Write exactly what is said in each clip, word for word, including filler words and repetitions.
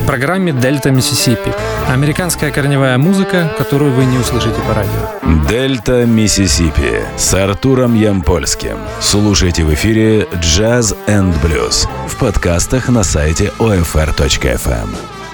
программе «Дельта Миссисипи». Американская корневая музыка, которую вы не услышите по радио. «Дельта Миссисипи» с Артуром Ямпольским. Слушайте в эфире «Джаз энд блюз» в подкастах на сайте о эф эр точка эф эм.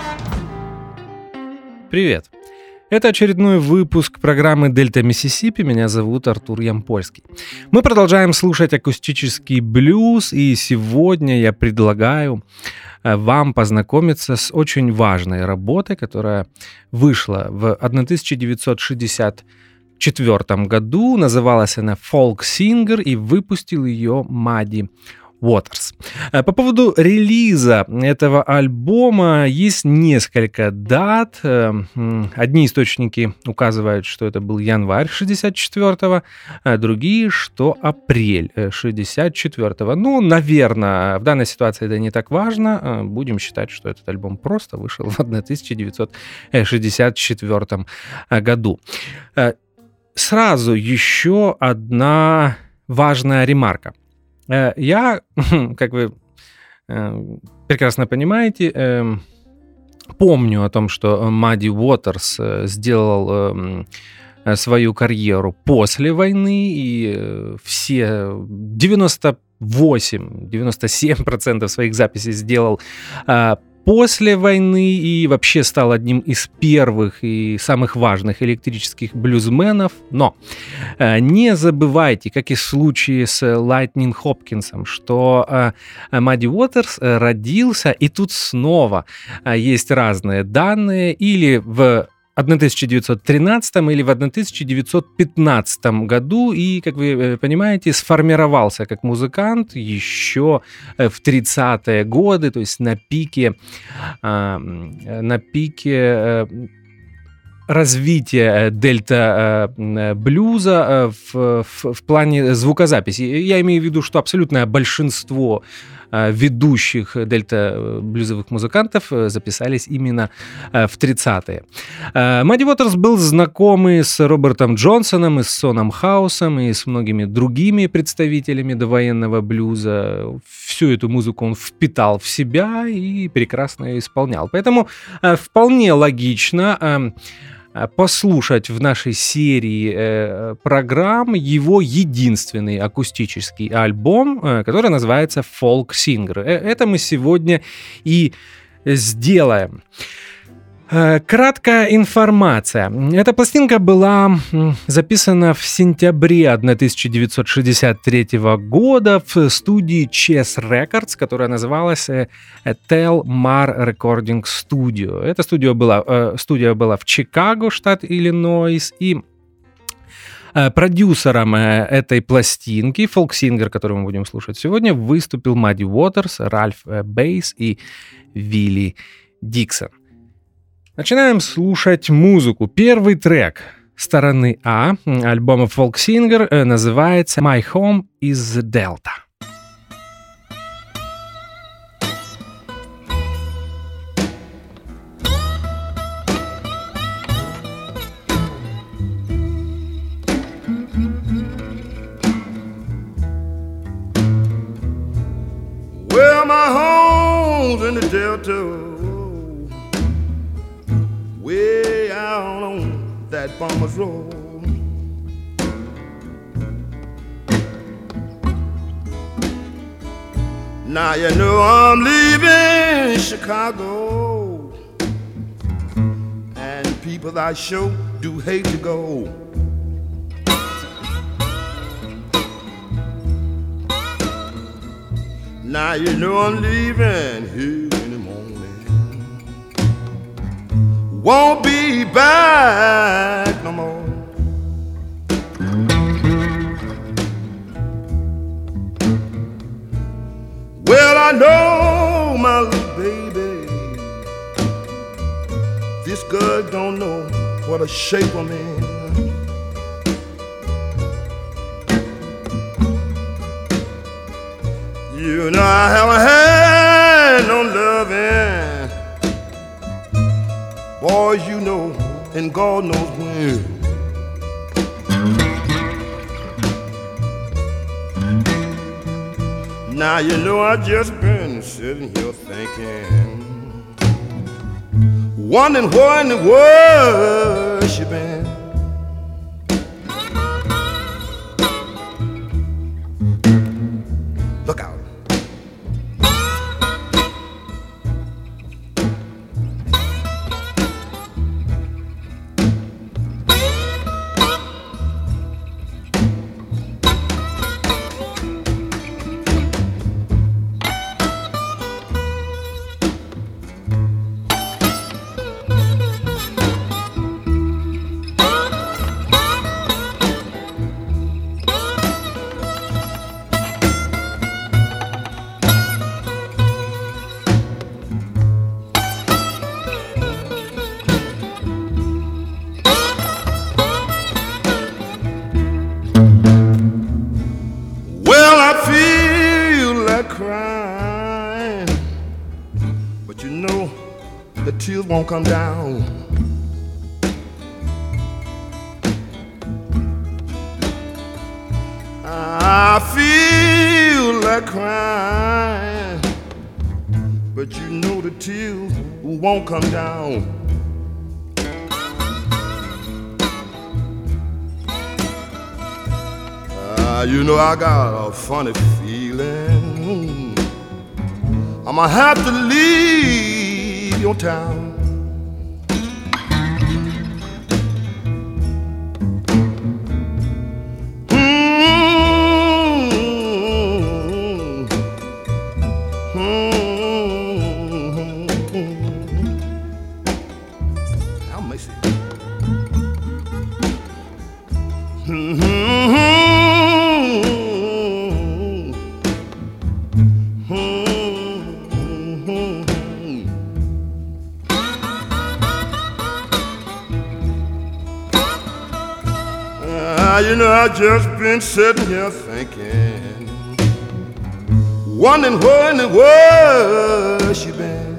Привет! Это очередной выпуск программы «Дельта Миссисипи». Меня зовут Артур Ямпольский. Мы продолжаем слушать акустический блюз, и сегодня я предлагаю вам познакомиться с очень важной работой, которая вышла в тысяча девятьсот шестьдесят четвёртом году. Называлась она «Folk Singer», и выпустил ее Мадди Уотерс. По поводу релиза этого альбома есть несколько дат. Одни источники указывают, что это был январь шестьдесят четвёртого, а другие, что апрель шестьдесят четвёртого. Ну, наверное, в данной ситуации это не так важно. Будем считать, что этот альбом просто вышел в тысяча девятьсот шестьдесят четвёртом году. Сразу еще одна важная ремарка. Я, как вы прекрасно понимаете, помню о том, что Мадди Уотерс сделал свою карьеру после войны, и все девяносто восемь - девяносто семь процентов своих записей сделал после войны и вообще стал одним из первых и самых важных электрических блюзменов. Но э, не забывайте, как и в случае с Лайтнинг Хопкинсом, что э, Мадди Уотерс родился, и тут снова э, есть разные данные, или в тысяча девятьсот тринадцатом или в тысяча девятьсот пятнадцатом году, и, как вы понимаете, сформировался как музыкант еще в тридцатые годы, то есть на пике, на пике развития дельта-блюза в, в, в плане звукозаписи. Я имею в виду, что абсолютное большинство ведущих дельта-блюзовых музыкантов записались именно в тридцатые. Мадди Уотерс был знакомый с Робертом Джонсоном, и с Соном Хаусом, и с многими другими представителями довоенного блюза. Всю эту музыку он впитал в себя и прекрасно ее исполнял. Поэтому вполне логично послушать в нашей серии э, программ его единственный акустический альбом, э, который называется «Folk Singer». Э, это мы сегодня и сделаем. Э, краткая информация. Эта пластинка была записана в сентябре тысяча девятьсот шестьдесят третьего года в студии Chess Records, которая называлась Telmar Recording Studio. Эта студия была, э, студия была в Чикаго, штат Иллинойс, и э, продюсером э, этой пластинки, Folk Singer, которую мы будем слушать сегодня, выступил Мадди Уотерс, Ральф э, Бейс и Вилли Диксон. Начинаем слушать музыку. Первый трек стороны А альбома Folk Singer э, называется «My Home is the Delta». Well, my home's in the Delta, way out on that farmer's road. Now you know I'm leaving Chicago, and people I sure do hate to go. Now you know I'm leaving here in the morning, won't be back no more. Well, I know my little baby, this girl don't know what a shape I'm in. You know I haven't had no loving, boys, you know, and God knows when. Now you know I just been sitting here thinking, wondering where in the world she been. Look out. Tears won't come down. I feel like crying, but you know the tears won't come down. Uh, you know I got a funny feeling I'ma have to leave your town. You know, I just been sitting here thinking, wondering where in the world she been.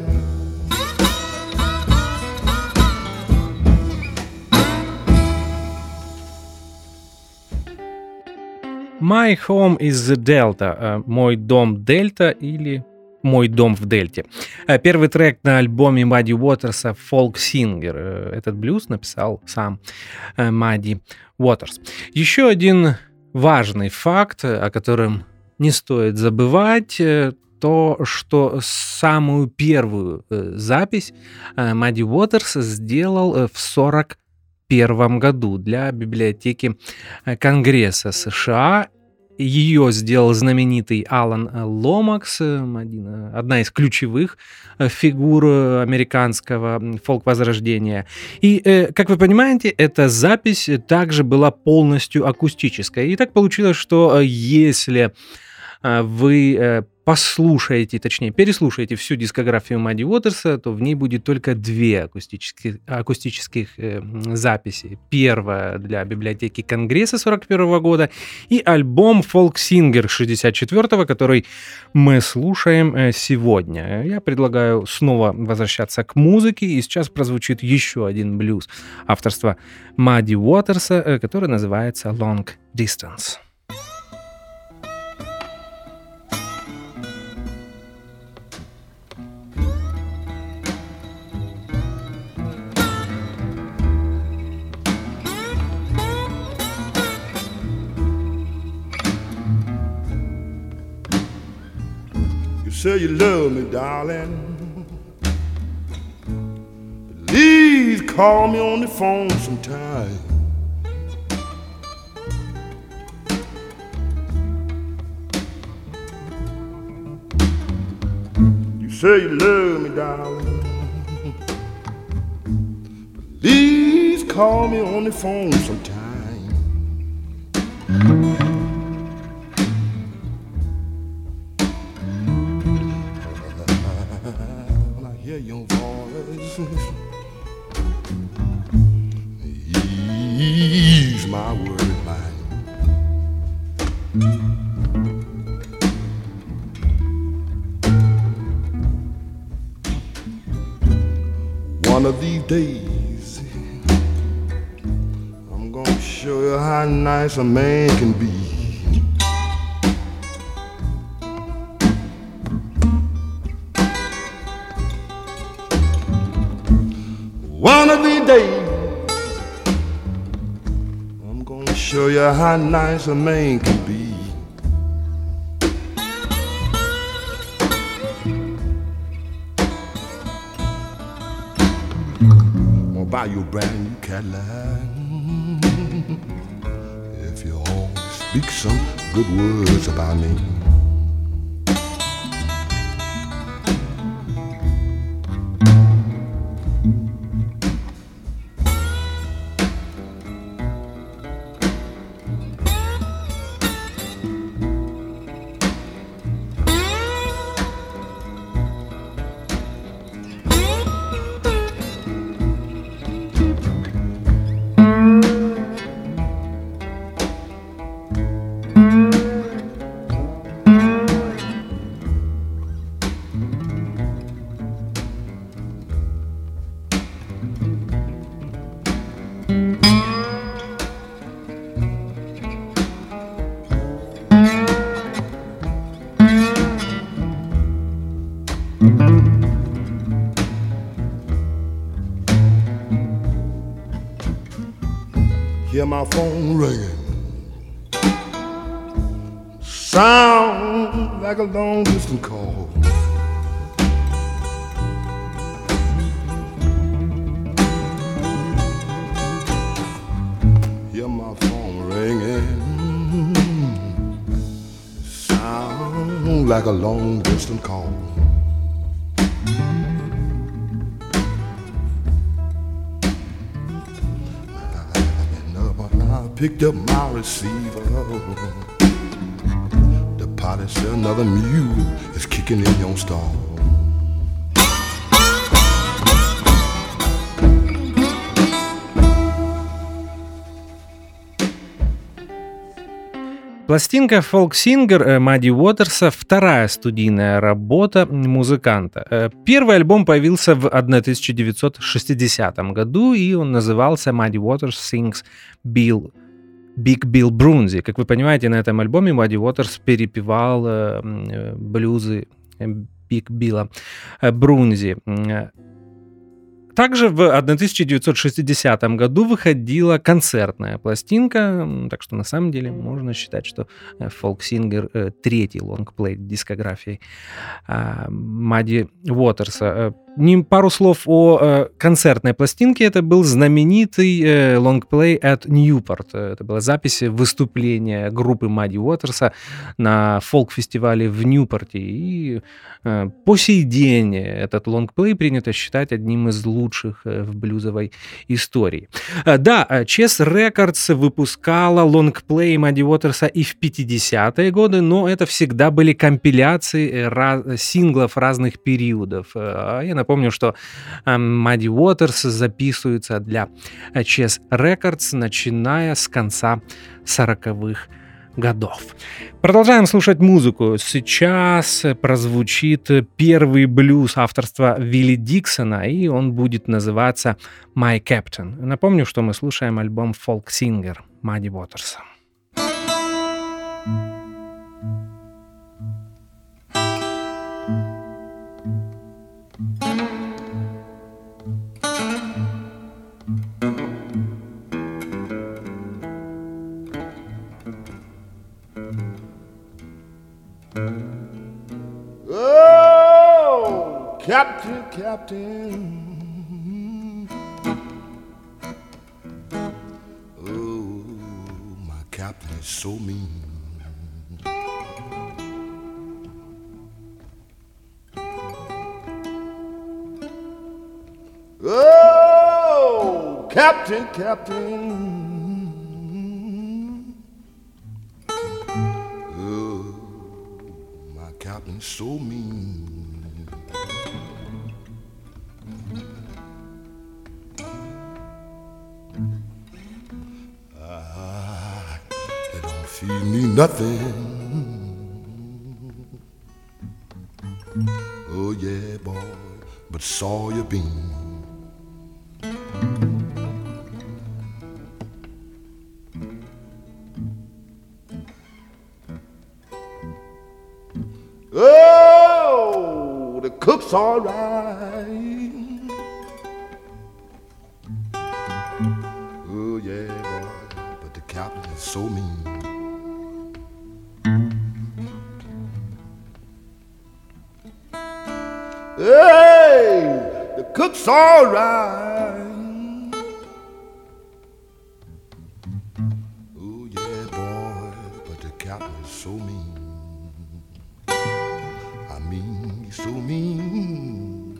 My Home is the Delta. Мой дом Дельта или Мой дом в Дельте. Первый трек на альбоме Мадди Уотерса «Folk Singer». Этот блюз написал сам Мадди Уотерс. Еще один важный факт, о котором не стоит забывать, то, что самую первую запись Мадди Уотерс сделал в сорок первом году для библиотеки Конгресса США. Ее сделал знаменитый Алан Ломакс, одна из ключевых фигур американского фолк-возрождения. И, как вы понимаете, эта запись также была полностью акустической. И так получилось, что если вы послушаете, точнее, переслушаете всю дискографию Мадди Уотерса, то в ней будет только две акустических, акустических э, записи. Первая для библиотеки Конгресса сорок первого года и альбом Folk Singer шестьдесят четвёртого, который мы слушаем э, сегодня. Я предлагаю снова возвращаться к музыке, и сейчас прозвучит еще один блюз авторства Мадди Уотерса, э, который называется Long Distance. Say you love me, darling. Please call me on the phone sometime. You say you love me, darling. Please call me on the phone sometime. Your voice ease my worried mind. One of these days I'm gonna show you how nice a man can be. One of these days, I'm gonna show you how nice a man can be. I'm gonna buy you a brand new Cadillac if you always speak some good words about me. Hear my phone ringing, sound like a long distance call. Hear my phone ringing, sound like a long distance call. Picked up my receiver. The party said another mule is kicking in your stall. Пластинка «Folk Singer» Мадди Уотерса — вторая студийная работа музыканта. Первый альбом появился в тысяча девятьсот шестидесятом году, и он назывался «Мадди Уотерс Sings Bill Big Bill Broonzy». Как вы понимаете, на этом альбоме Мадди Уотерс перепевал э, блюзы Биг Билла Брунзи. Также в тысяча девятьсот шестидесятом году выходила концертная пластинка, так что на самом деле можно считать, что «Folk Singer» — третий лонгплей дискографии Мадди Уотерса. Пару слов о концертной пластинке. Это был знаменитый лонгплей at Newport. Это была запись выступления группы Мадди Уотерса на фолк-фестивале в Ньюпорте. И по сей день этот лонгплей принято считать одним из лучших в блюзовой истории. Да, Chess Records выпускала лонгплей Мадди Уотерса и в пятидесятые годы, но это всегда были компиляции раз, синглов разных периодов. Я напомню, что Мадди Уотерс записывается для Chess Records, начиная с конца сороковых годов. Продолжаем слушать музыку. Сейчас прозвучит первый блюз авторства Вилли Диксона, и он будет называться «My Captain». Напомню, что мы слушаем альбом «Folk Singer» Мадди Уотерса. Oh, Captain, Captain. Oh, my captain is so mean. Oh, Captain, Captain. Captain so mean. Ah, they don't feed me nothing. Oh yeah, boy, but soya bean. Oh, the cook's all right. the cook's all right. Oh yeah, boy, but the captain is so mean. I mean, he's so mean.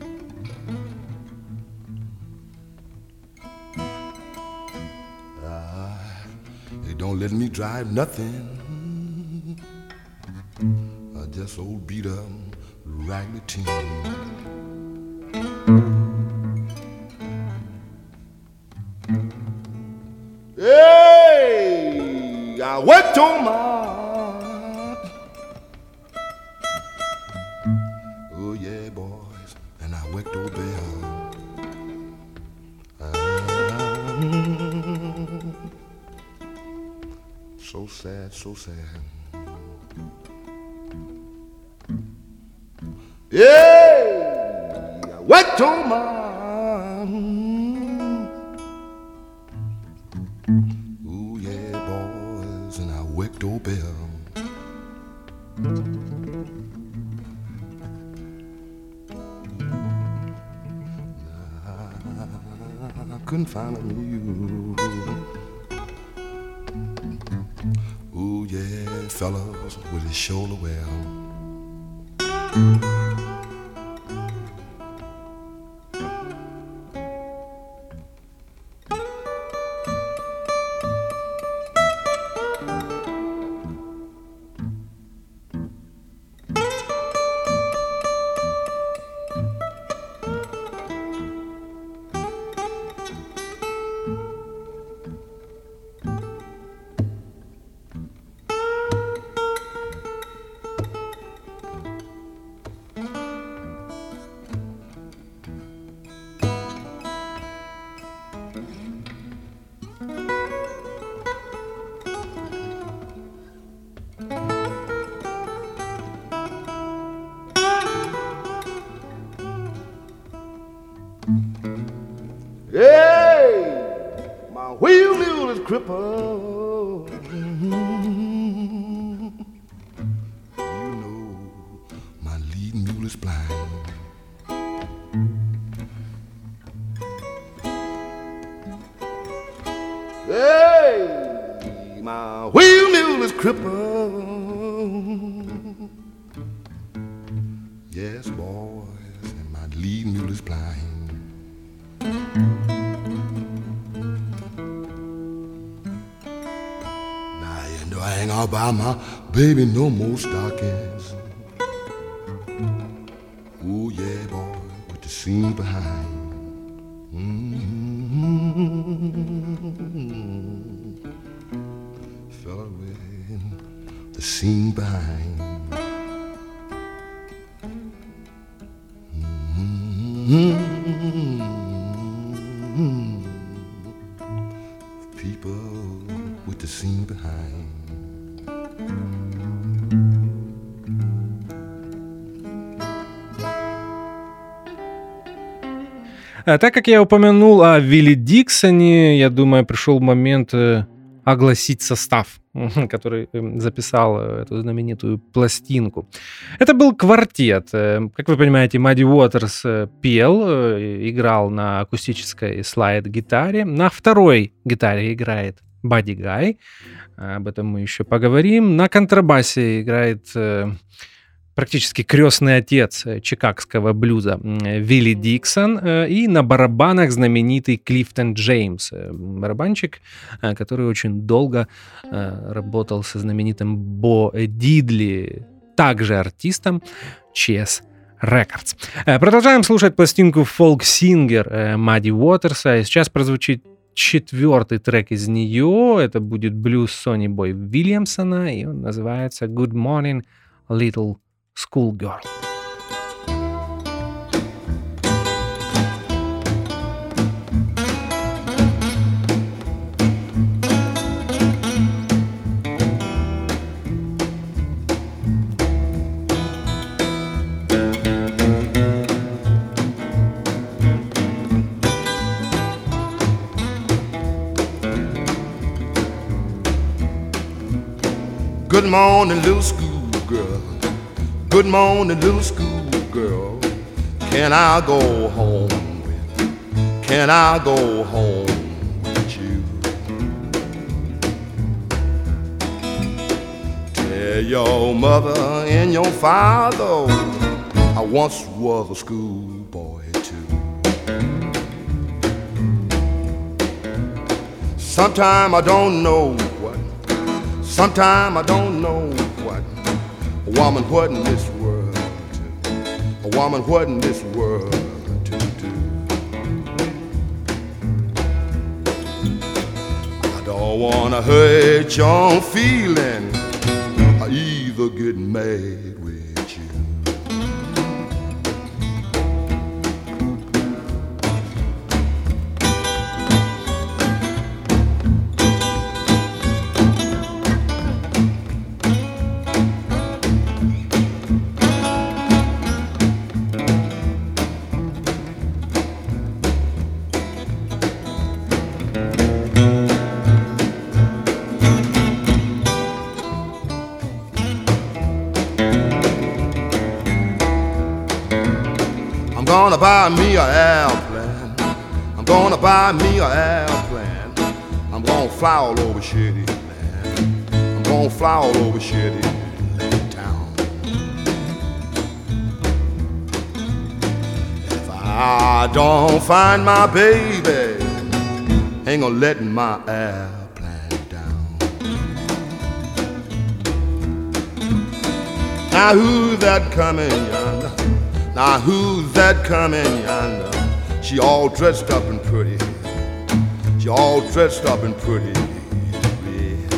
Ah, he don't let me drive nothing. I just old beat up raggedy team. Hey, I worked on my. Oh yeah, boys, and I worked over there. Ah, so sad, so sad. Yeah, I worked on my. Oh yeah, boys, and I worked over there. I couldn't find a mule. Oh yeah, fellas with his shoulder well. Hey, my wheel mule is crippled. You know, my lead mule is blind. Hey, my wheel mule is crippled. Yes, boys, and my lead mule is blind. I ain't gonna buy my baby no more stockings. Oh yeah, boy, with the seam behind. Mm-hmm. Fella with the seam behind. Mm-hmm. People with the seam behind. Так как я упомянул о Вилли Диксоне, я думаю, пришел момент огласить состав, который записал эту знаменитую пластинку. Это был квартет. Как вы понимаете, Мадди Уотерс пел, играл на акустической слайд-гитаре. На второй гитаре играет Бадди Гай. Об этом мы еще поговорим. На контрабасе играет практически крестный отец чикагского блюза Вилли Диксон, и на барабанах знаменитый Клифтон Джеймс, барабанщик, который очень долго работал со знаменитым Бо Дидли, также артистом Chess Records. Продолжаем слушать пластинку Folk Singer Мадди Уотерса, и сейчас прозвучит четвертый трек из нее. Это будет блюз Сонни Бой Вильямсона, и он называется Good Morning, Little Schoolgirl. Good morning, little schoolgirl. Good morning, little schoolgirl. Can I go home can I go home with you? Tell your mother and your father I once was a schoolboy too. Sometime I don't know what, sometime I don't know what a woman what in this world to, a woman what in this world to do. I don't wanna hurt your feeling, I either get mad with you. I'm gonna buy me an airplane. I'm gonna buy me an airplane. I'm gonna fly all over shitty land. I'm gonna fly all over shitty town. If I don't find my baby, ain't gonna let my airplane down. Now who's that coming yonder? Now who's that coming yonder? She all dressed up and pretty. She all dressed up and pretty. Yeah.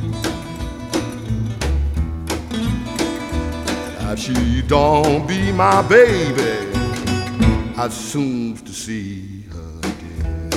If she don't be my baby, I'd soon to see her dead.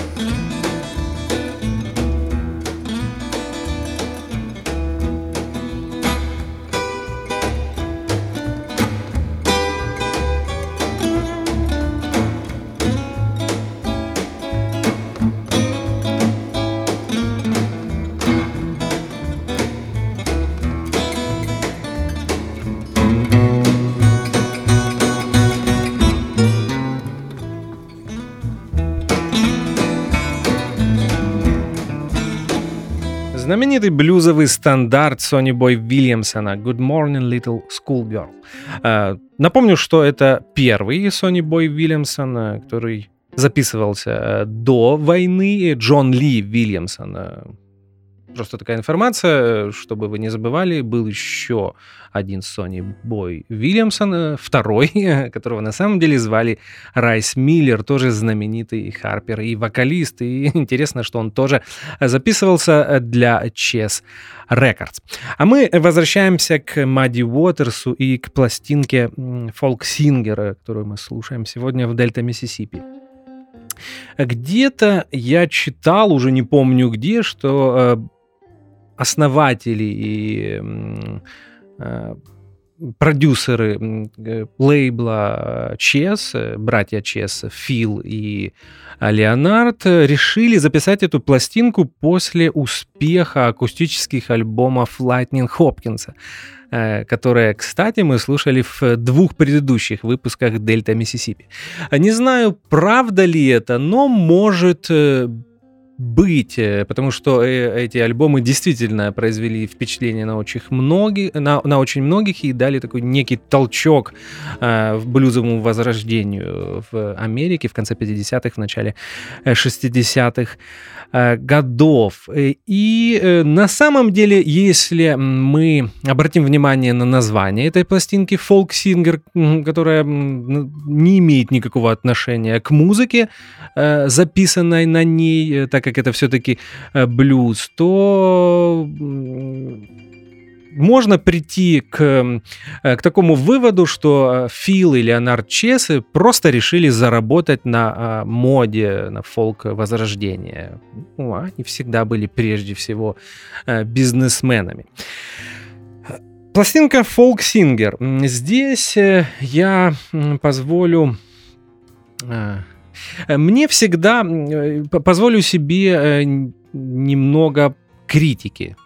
Знаменитый блюзовый стандарт Сонни Бой Вильямсона «Good Morning, Little Schoolgirl». Напомню, что это первый Сонни Бой Вильямсон, который записывался до войны. Джон Ли Вильямсон. Просто такая информация, чтобы вы не забывали, был еще один Сонни Бой Вильямсон, второй, которого на самом деле звали Райс Миллер, тоже знаменитый харпер и вокалист. И интересно, что он тоже записывался для Chess Records. А мы возвращаемся к Мадди Уотерсу и к пластинке Folk Singer, которую мы слушаем сегодня в Дельта Миссисипи. Где-то я читал, уже не помню где, что основатели и э, продюсеры э, лейбла Chess, братья Chess, Фил и Леонард, решили записать эту пластинку после успеха акустических альбомов Lightning Hopkins, э, которые, кстати, мы слушали в двух предыдущих выпусках Дельта Миссисипи. Не знаю, правда ли это, но может э, быть, потому что эти альбомы действительно произвели впечатление на очень многих, на, на очень многих и дали такой некий толчок э, в блюзовому возрождению в Америке в конце пятидесятых, в начале шестидесятых э, годов. И э, на самом деле, если мы обратим внимание на название этой пластинки Folk Singer, которая не имеет никакого отношения к музыке, э, записанной на ней, так как это все-таки блюз, то можно прийти к, к такому выводу, что Фил и Леонард Чесс просто решили заработать на моде, на фолк-возрождение. Ну, они всегда были прежде всего бизнесменами. Пластинка Folk Singer. Здесь я позволю... Мне всегда позволю себе немного критики.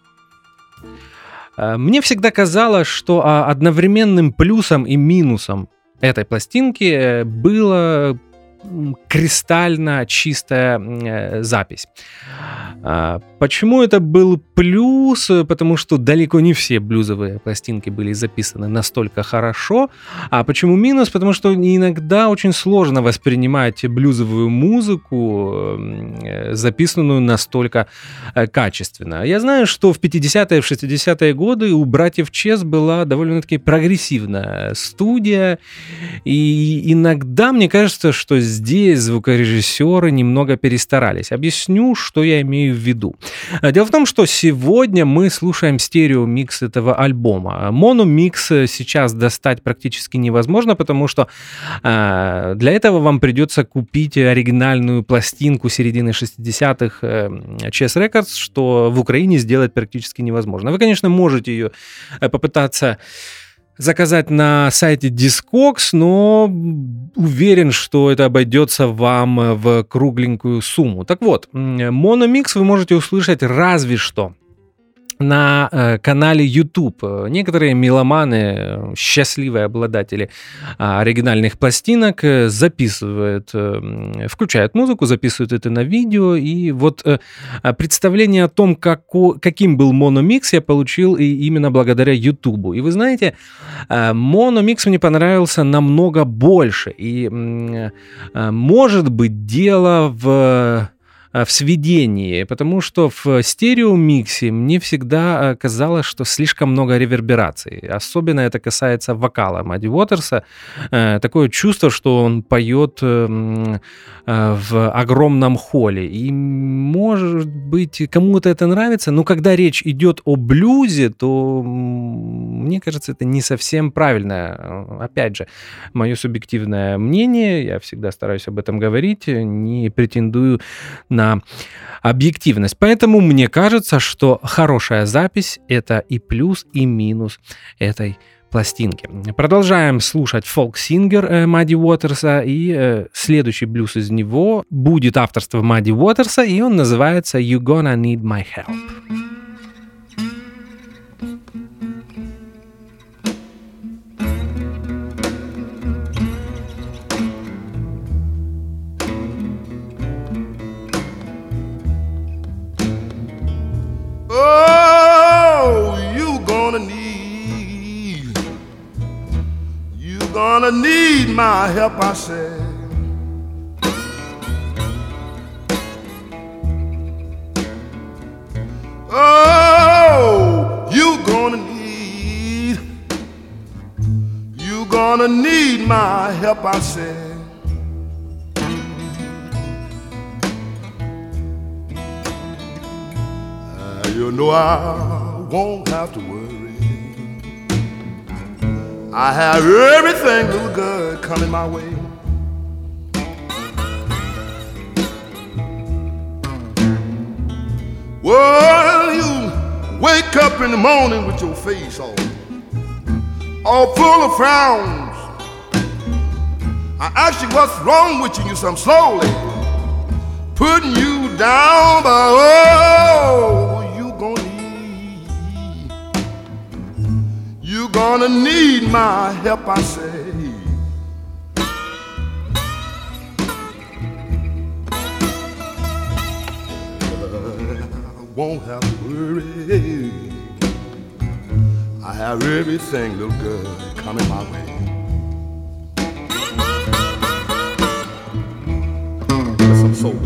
Мне всегда казалось, что одновременным плюсом и минусом этой пластинки было кристально чистая э, запись. А, почему это был плюс? Потому что далеко не все блюзовые пластинки были записаны настолько хорошо. А почему минус? Потому что иногда очень сложно воспринимать блюзовую музыку, э, записанную настолько э, качественно. Я знаю, что в пятидесятые, в шестидесятые годы у братьев Чес была довольно-таки прогрессивная студия, и иногда мне кажется, что здесь звукорежиссеры немного перестарались. Объясню, что я имею в виду. Дело в том, что сегодня мы слушаем стереомикс этого альбома. Мономикс сейчас достать практически невозможно, потому что э, для этого вам придется купить оригинальную пластинку середины шестидесятых э, Chess Records, что в Украине сделать практически невозможно. Вы, конечно, можете ее попытаться заказать на сайте Discogs, но уверен, что это обойдется вам в кругленькую сумму. Так вот, мономикс вы можете услышать разве что на э, канале YouTube. Некоторые меломаны, счастливые обладатели э, оригинальных пластинок, э, записывают, э, включают музыку, записывают это на видео, и вот э, представление о том, како, каким был мономикс, я получил и именно благодаря YouTube. И вы знаете, э, мономикс мне понравился намного больше, и э, э, может быть дело в... в сведении, потому что в стереомиксе мне всегда казалось, что слишком много реверберации. Особенно это касается вокала Мадди Уотерса. Такое чувство, что он поет в огромном холле. И, может быть, кому-то это нравится, но когда речь идет о блюзе, то, мне кажется, это не совсем правильно. Опять же, мое субъективное мнение, я всегда стараюсь об этом говорить, не претендую на объективность. Поэтому мне кажется, что хорошая запись — это и плюс, и минус этой пластинки. Продолжаем слушать фолк-сингер Мадди Уотерса, и э, следующий блюз из него будет авторство Мадди Уотерса, и он называется «You Gonna Need My Help». Gonna need my help, I said. Oh, you gonna need, you gonna need my help, I said. Uh, you know I won't have to worry. I have everything little good coming my way. Well, you wake up in the morning with your face all, all full of frowns. I ask you what's wrong with you, you some slowly putting you down, but oh, you gonna You gonna need my help, I say. I won't have to worry. I have everything little good coming my way. That's some soul.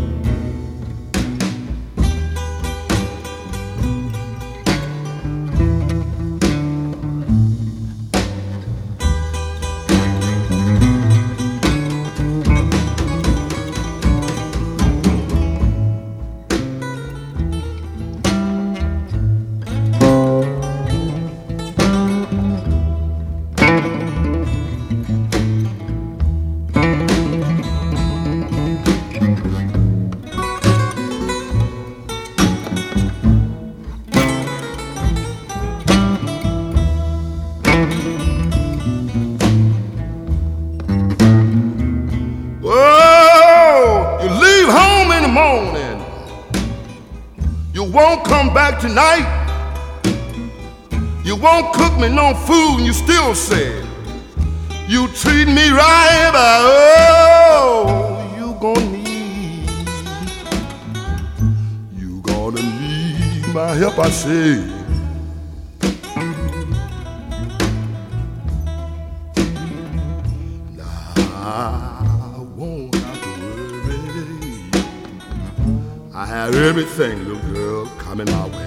Won't come back tonight. You won't cook me no food, and you still say you treat me right, but oh, you Now help I say, I won't have to worry. I have everything, little girl, coming my way.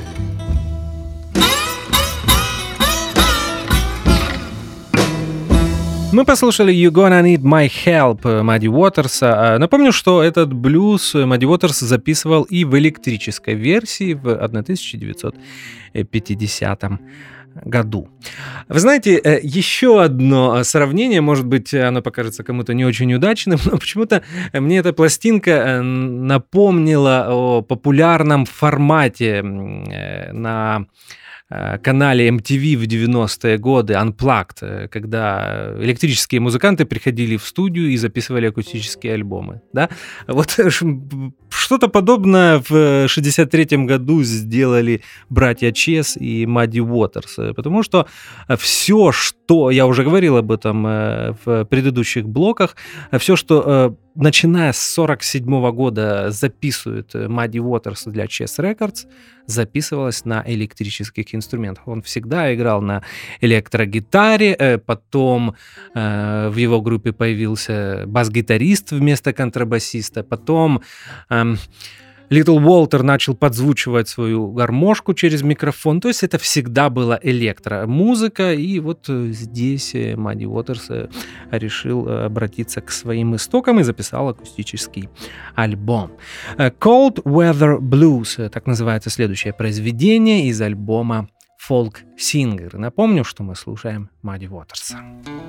Мы послушали You Gonna Need My Help Мадди Уотерса. Напомню, что этот блюз Мадди Уотерс записывал и в электрической версии в тысяча девятьсот пятидесятом году. Вы знаете, еще одно сравнение, может быть, оно покажется кому-то не очень удачным, но почему-то мне эта пластинка напомнила о популярном формате на канале эм ти ви в девяностые годы Unplugged, когда электрические музыканты приходили в студию и записывали акустические альбомы. Да? Вот что-то подобное в шестьдесят третьем году сделали братья Чес и Мадди Уотерс, потому что все, что, я уже говорил об этом в предыдущих блоках, все, что начиная с сорок седьмого года записывает Мадди Уотерс для Chess Records, записывалось на электрических инструментах. Он всегда играл на электрогитаре, потом э, в его группе появился бас-гитарист вместо контрабасиста, потом э, Литл Уолтер начал подзвучивать свою гармошку через микрофон, то есть это всегда была электромузыка, и вот здесь Мадди Уотерс решил обратиться к своим истокам и записал акустический альбом. Cold Weather Blues, так называется следующее произведение из альбома Folk Singer. Напомню, что мы слушаем Мадди Уотерса.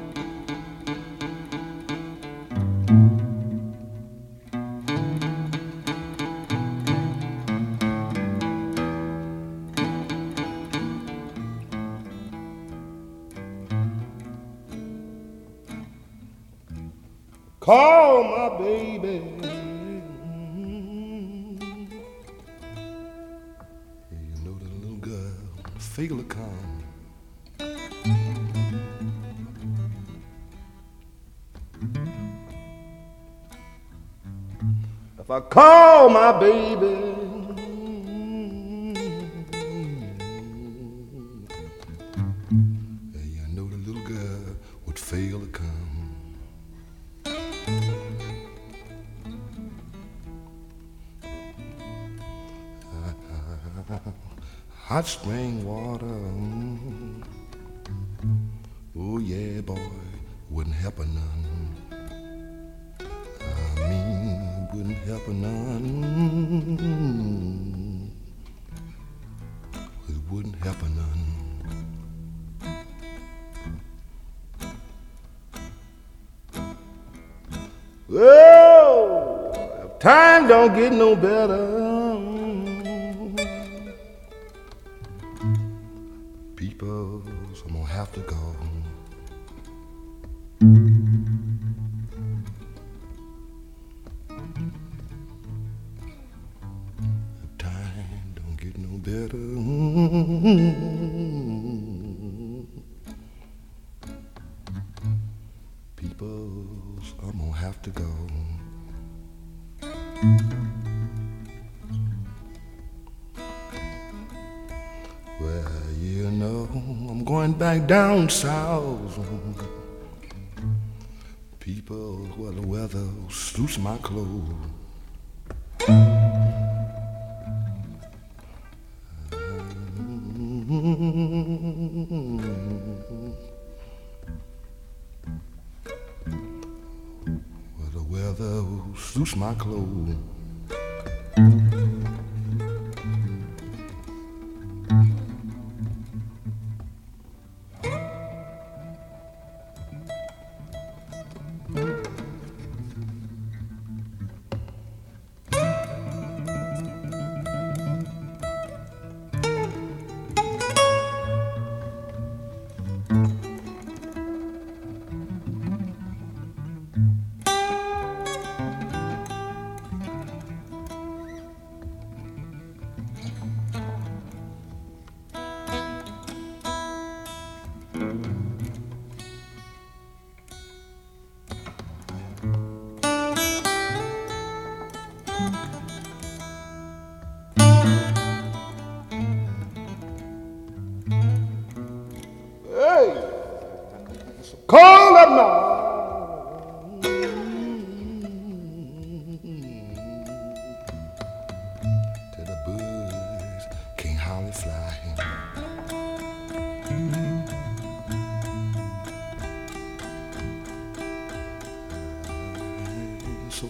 Call my baby. You know the little girl, feel to come. If I call my baby, you know the little girl would fail to come. Hot spring water, mm. Oh yeah, boy, wouldn't help her none. I mean, wouldn't help her none. It wouldn't help her none. Well, if time don't get no better, people, I'm gonna have to go. If time don't get no better, people, I'm gonna have to go. Well, you know, I'm going back down south. People, well, the weather suits my clothes. Well, the weather suits my clothes.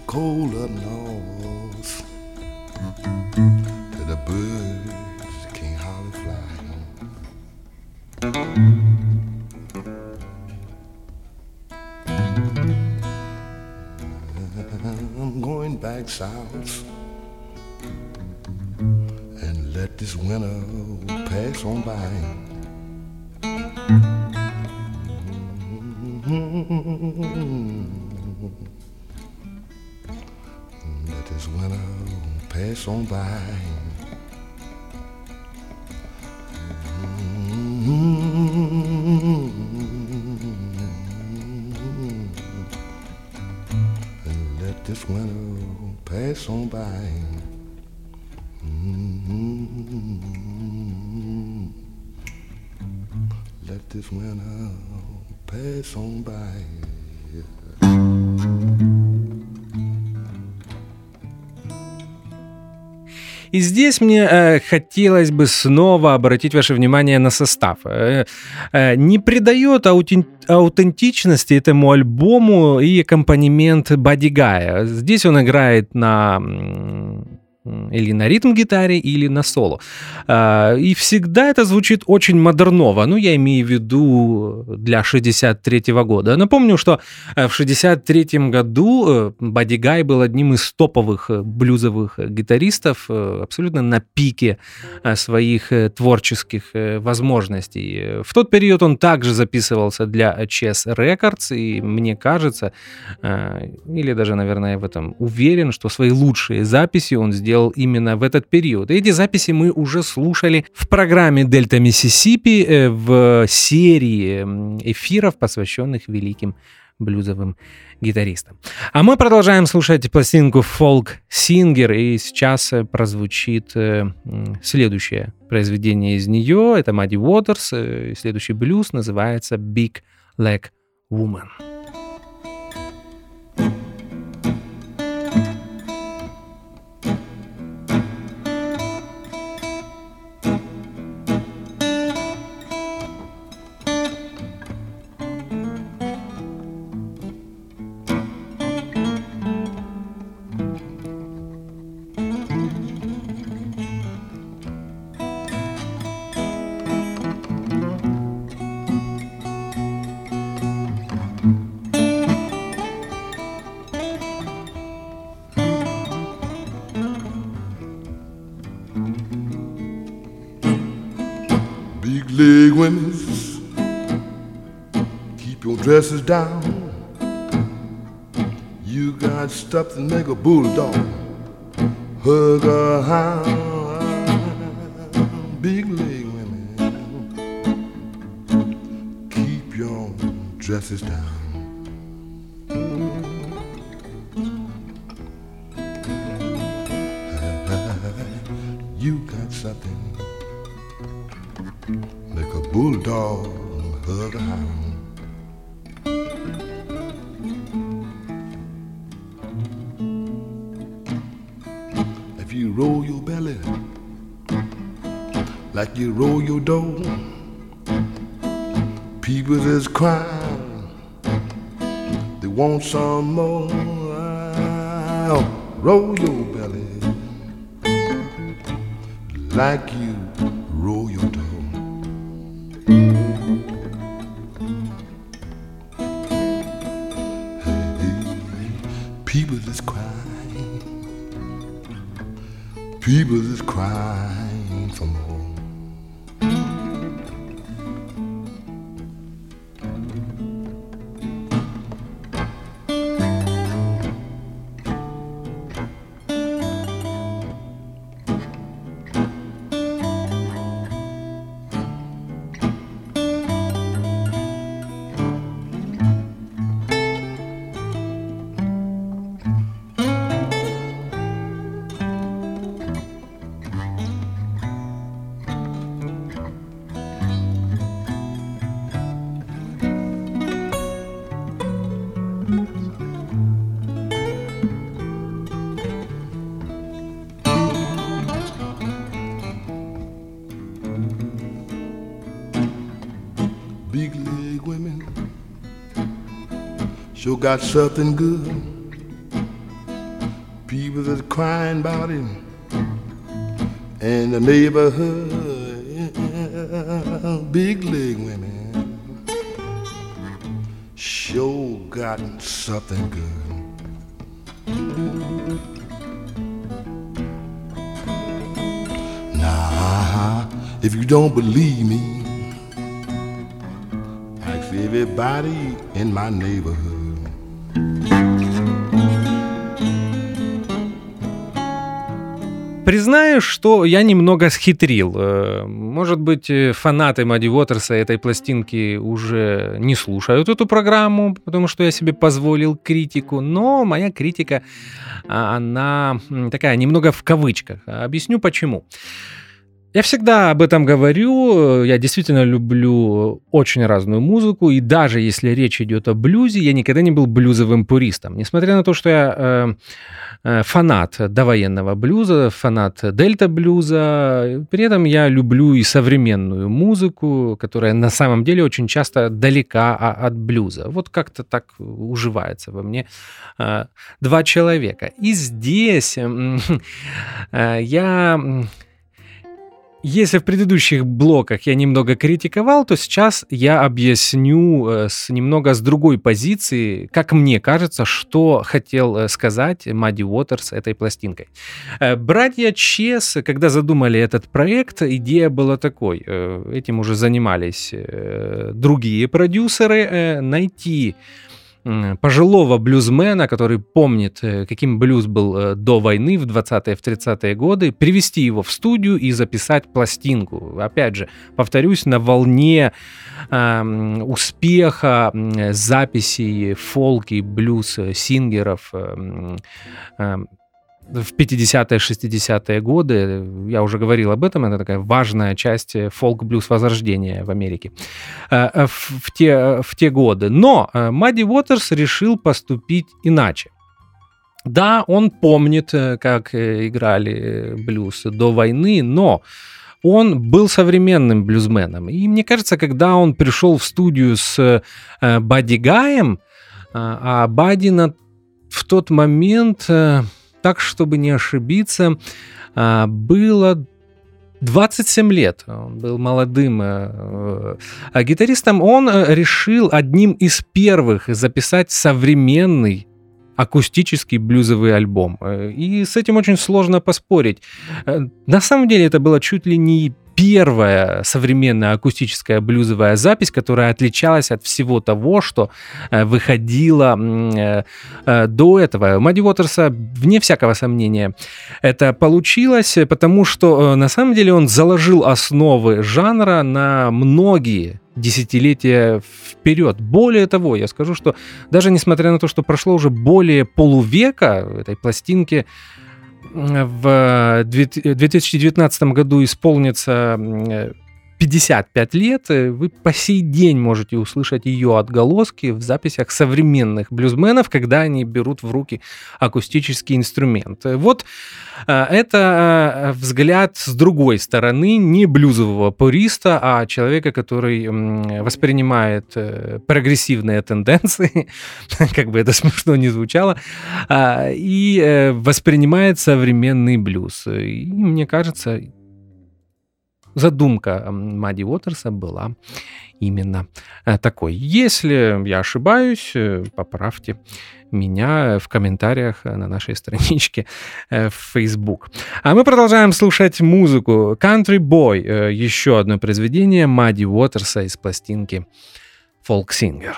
cold up north, to the birds can't hardly fly. I'm going back south and let this winter pass on by. Let this winter pass on by. And let this winter pass on by. Let this winter pass on by. И здесь мне э, хотелось бы снова обратить ваше внимание на состав. Э, э, не придает аутен... аутентичности этому альбому и аккомпанемент Бадди Гая. Здесь он играет на... или на ритм-гитаре, или на соло. И всегда это звучит очень модерново. Ну, я имею в виду для шестьдесят третьего года. Напомню, что в шестьдесят третьем году Бадди Гай был одним из топовых блюзовых гитаристов, абсолютно на пике своих творческих возможностей. В тот период он также записывался для Chess Records, и мне кажется, или даже, наверное, я в этом уверен, что свои лучшие записи он сделал именно в этот период. Эти записи мы уже слушали в программе «Дельта Миссисипи» в серии эфиров, посвященных великим блюзовым гитаристам. А мы продолжаем слушать пластинку «Folk Singer», и сейчас прозвучит следующее произведение из нее. Это Мадди Уотерс. Следующий блюз называется «Big Leg Woman». Leg women, keep your dresses down. You got stuff to make a bulldog hug a hound. Big leg women, keep your dresses down. You got something like a bulldog hug a hound. If you roll your belly like you roll your dough, people is crying, they want some more. Roll your belly like you roll your dough. People is crying, people is crying for more. Big leg women sure got something good people that are crying about him in the neighborhood, big leg women sure got something good. Now, if you don't believe me, ask everybody in my neighborhood. Признаю, что я немного схитрил. Может быть, фанаты Мадди Уотерса этой пластинки уже не слушают эту программу, потому что я себе позволил критику, но моя критика, она такая немного в кавычках. Объясню почему. Я всегда об этом говорю, я действительно люблю очень разную музыку, и даже если речь идет о блюзе, я никогда не был блюзовым пуристом. Несмотря на то, что я э, э, фанат довоенного блюза, фанат дельта-блюза, при этом я люблю и современную музыку, которая на самом деле очень часто далека от блюза. Вот как-то так уживается во мне э, два человека. И здесь э, э, я... Если в предыдущих блоках я немного критиковал, то сейчас я объясню с немного с другой позиции, как мне кажется, что хотел сказать Мадди Уотерс этой пластинкой. Братья Чес, когда задумали этот проект, идея была такой. Этим уже занимались другие продюсеры. Найти пожилого блюзмена, который помнит, каким блюз был до войны в двадцатые, в тридцатые годы, привести его в студию и записать пластинку. Опять же, повторюсь, на волне э, успеха э, записей фолк и блюз-сингеров э, э, в пятидесятые, шестидесятые годы. Я уже говорил об этом, это такая важная часть фолк-блюз возрождения в Америке в, в, те, в те годы. Но Мадди Уотерс решил поступить иначе. Да, он помнит, как играли блюз до войны, но он был современным блюзменом. И мне кажется, когда он пришел в студию с Бадди Гаем, а Бадди на, в тот момент... Так, чтобы не ошибиться, было двадцать семь лет. Он был молодым гитаристом. Он решил одним из первых записать современный акустический блюзовый альбом. И с этим очень сложно поспорить. На самом деле это было чуть ли не первая современная акустическая блюзовая запись, которая отличалась от всего того, что выходило до этого. Мадди Уотерса, вне всякого сомнения, это получилось, потому что на самом деле он заложил основы жанра на многие десятилетия вперед. Более того, я скажу, что даже несмотря на то, что прошло уже более полувека этой пластинке, в две тысячи девятнадцатом году исполнится пятьдесят пять лет, вы по сей день можете услышать ее отголоски в записях современных блюзменов, когда они берут в руки акустический инструмент. Вот это взгляд с другой стороны, не блюзового пуриста, а человека, который воспринимает прогрессивные тенденции, как бы это смешно ни звучало, и воспринимает современный блюз. И мне кажется, задумка Мадди Уотерса была именно такой. Если я ошибаюсь, поправьте меня в комментариях на нашей страничке в Facebook. А мы продолжаем слушать музыку. Country Boy, еще одно произведение Мадди Уотерса из пластинки Folk Singer.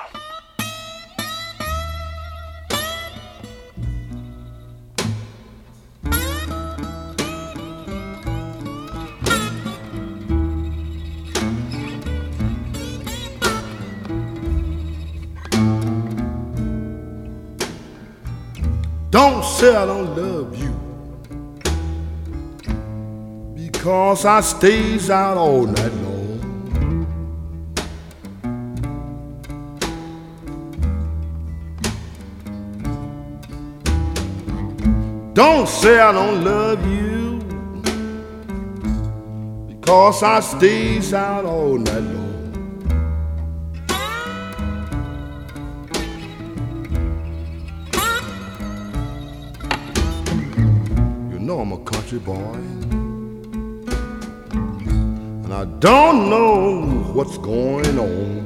Don't say I don't love you, because I stays out all night long. Don't say I don't love you, because I stays out all night long. know I'm a country boy, and I don't know what's going on.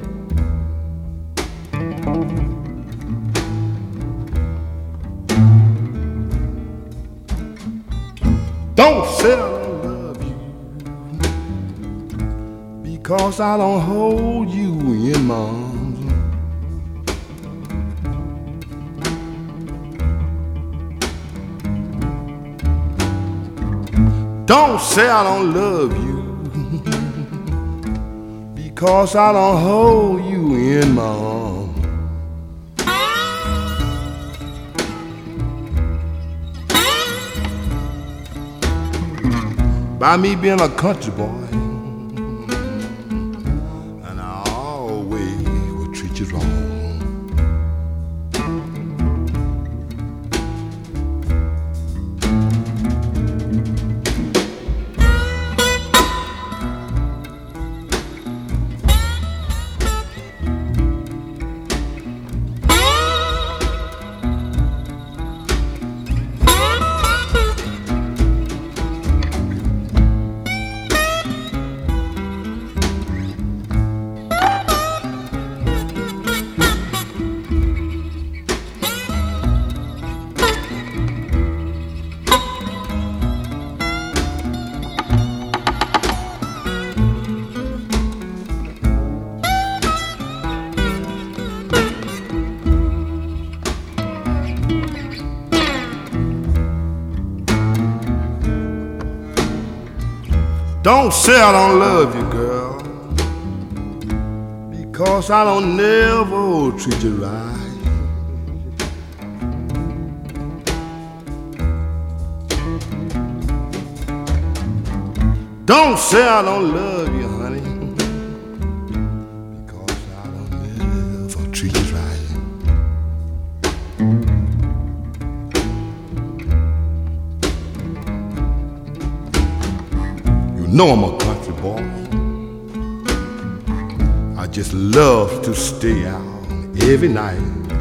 Don't say I don't love you, because I don't hold you in my arms. Don't say I don't love you, because I don't hold you in my arms. By me being a country boy, and I always will treat you wrong. Don't say I don't love you, girl, because I don't never treat you right. Don't say I don't love you, honey, because I don't never treat you right. You know I'm a country boy. I just love to stay out every night.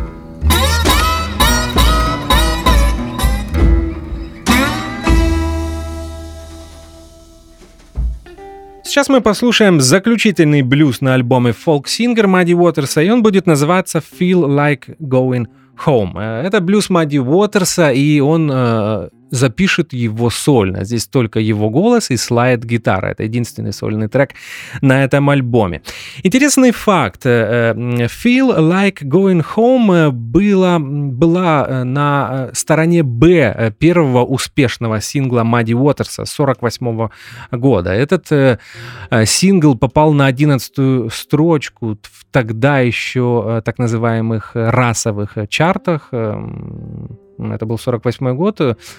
Сейчас мы послушаем заключительный блюз на альбоме Folk Singer Muddy Waters'а, и он будет называться Feel Like Going Home. Это блюз Muddy Waters'а, и он э, запишет его сольно. Здесь только его голос и слайд-гитара. Это единственный сольный трек на этом альбоме. Интересный факт. Feel Like Going Home была, была на стороне Б первого успешного сингла Muddy Waters'а сорок восьмого года. Этот э, сингл попал на одиннадцатую строчку в тогда еще так называемых расовых чартах. Это был сорок восьмой год.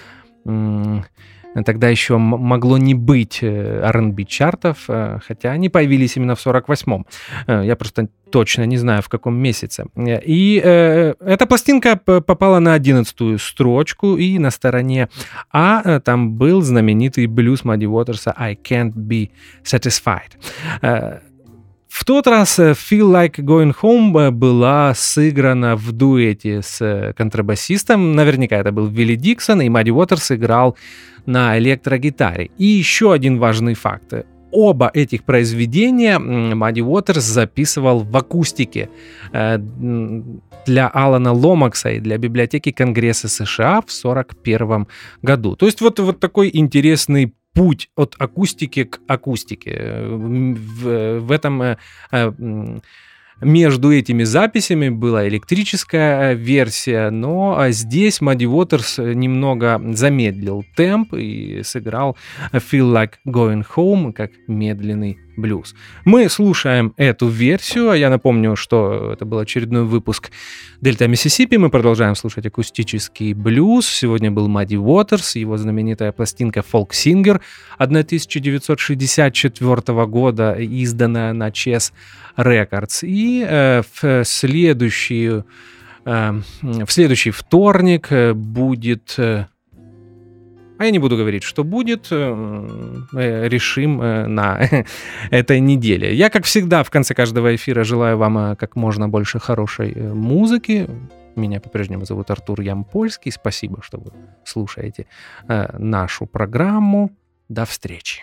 Тогда еще могло не быть ар энд би-чартов, хотя они появились именно в сорок восьмом. Я просто точно не знаю, в каком месяце. И э, эта пластинка попала на одиннадцатую строчку, и на стороне А там был знаменитый блюз Muddy Waters'а «I Can't Be Satisfied». В тот раз Feel Like Going Home была сыграна в дуэте с контрабасистом. Наверняка это был Вилли Диксон, и Muddy Waters играл на электрогитаре. И еще один важный факт. Оба этих произведения Muddy Waters записывал в акустике для Алана Ломакса и для библиотеки Конгресса США в сорок первом году. То есть вот, вот такой интересный путь от акустики к акустике. В, в этом между этими записями была электрическая версия, но здесь Muddy Waters немного замедлил темп и сыграл Feel Like Going Home как медленный блюз. Мы слушаем эту версию. Я напомню, что это был очередной выпуск Дельта Миссисипи. Мы продолжаем слушать акустический блюз. Сегодня был Muddy Waters, его знаменитая пластинка Folk Singer тысяча девятьсот шестьдесят четвёртого года, изданная на Chess Records. И э, в, следующий, э, в следующий вторник будет... Э, А я не буду говорить, что будет, решим на этой неделе. Я, как всегда, в конце каждого эфира желаю вам как можно больше хорошей музыки, Меня по-прежнему зовут Артур Ямпольский. Спасибо, что вы слушаете э, нашу программу. До встречи.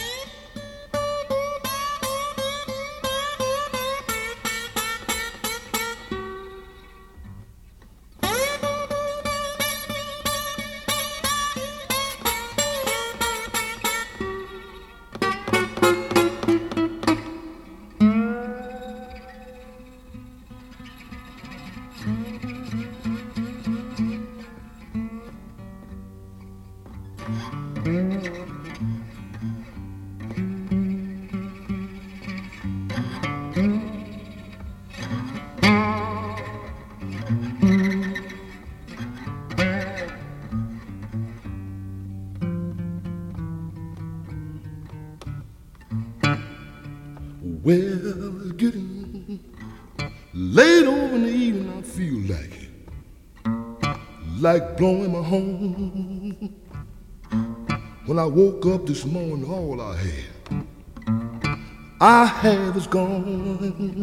Well, it's getting late over in the evening. I feel like it, like blowing my horn. When I woke up this morning, all I had, I have is gone.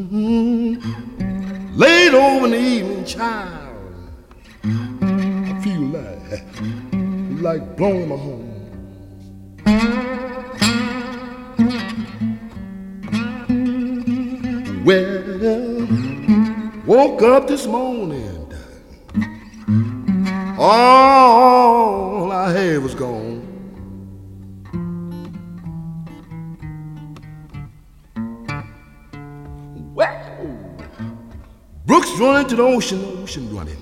Late over in the evening, child, I feel like, like blowing my horn. Well, woke up this morning, all I had was gone. Well, Brooks running to the ocean, ocean running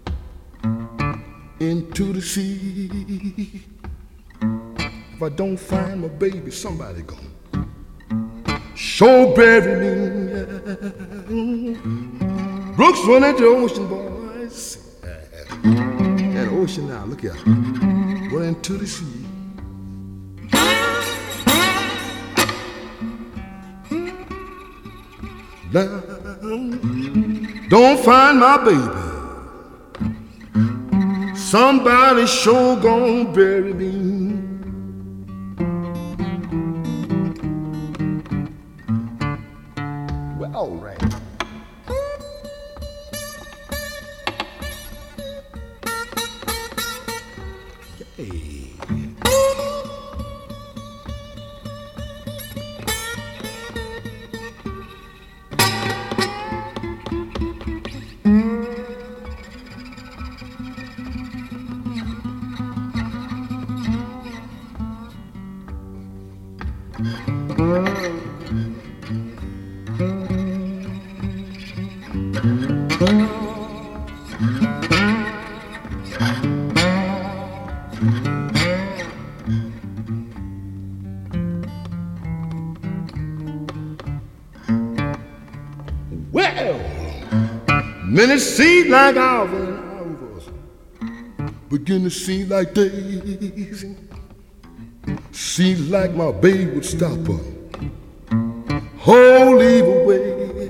into the sea. If I don't find my baby, somebody gone sure bury me. Brooks run into the ocean, boys. That ocean now, look here, run into the sea. Now, don't find my baby. Somebody sure gonna bury me. All right. Hey. Well, minutes seem like hours and hours begin to seem like days. Seems like my baby would stop her whole leave away.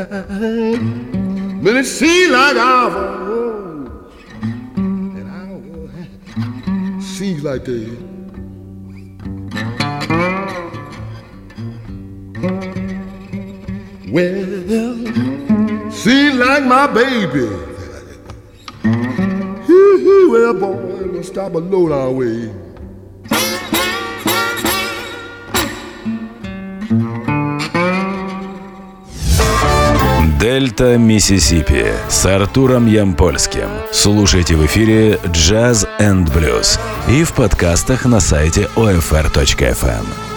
Minutes seem like hours and hours seems like days. Well, seems like my baby. Well, boy, we'll stop a low down way. Дельта Миссисипи с Артуром Ямпольским. Слушайте в эфире Jazz энд Blues и в подкастах на сайте о эф эр точка эф эм.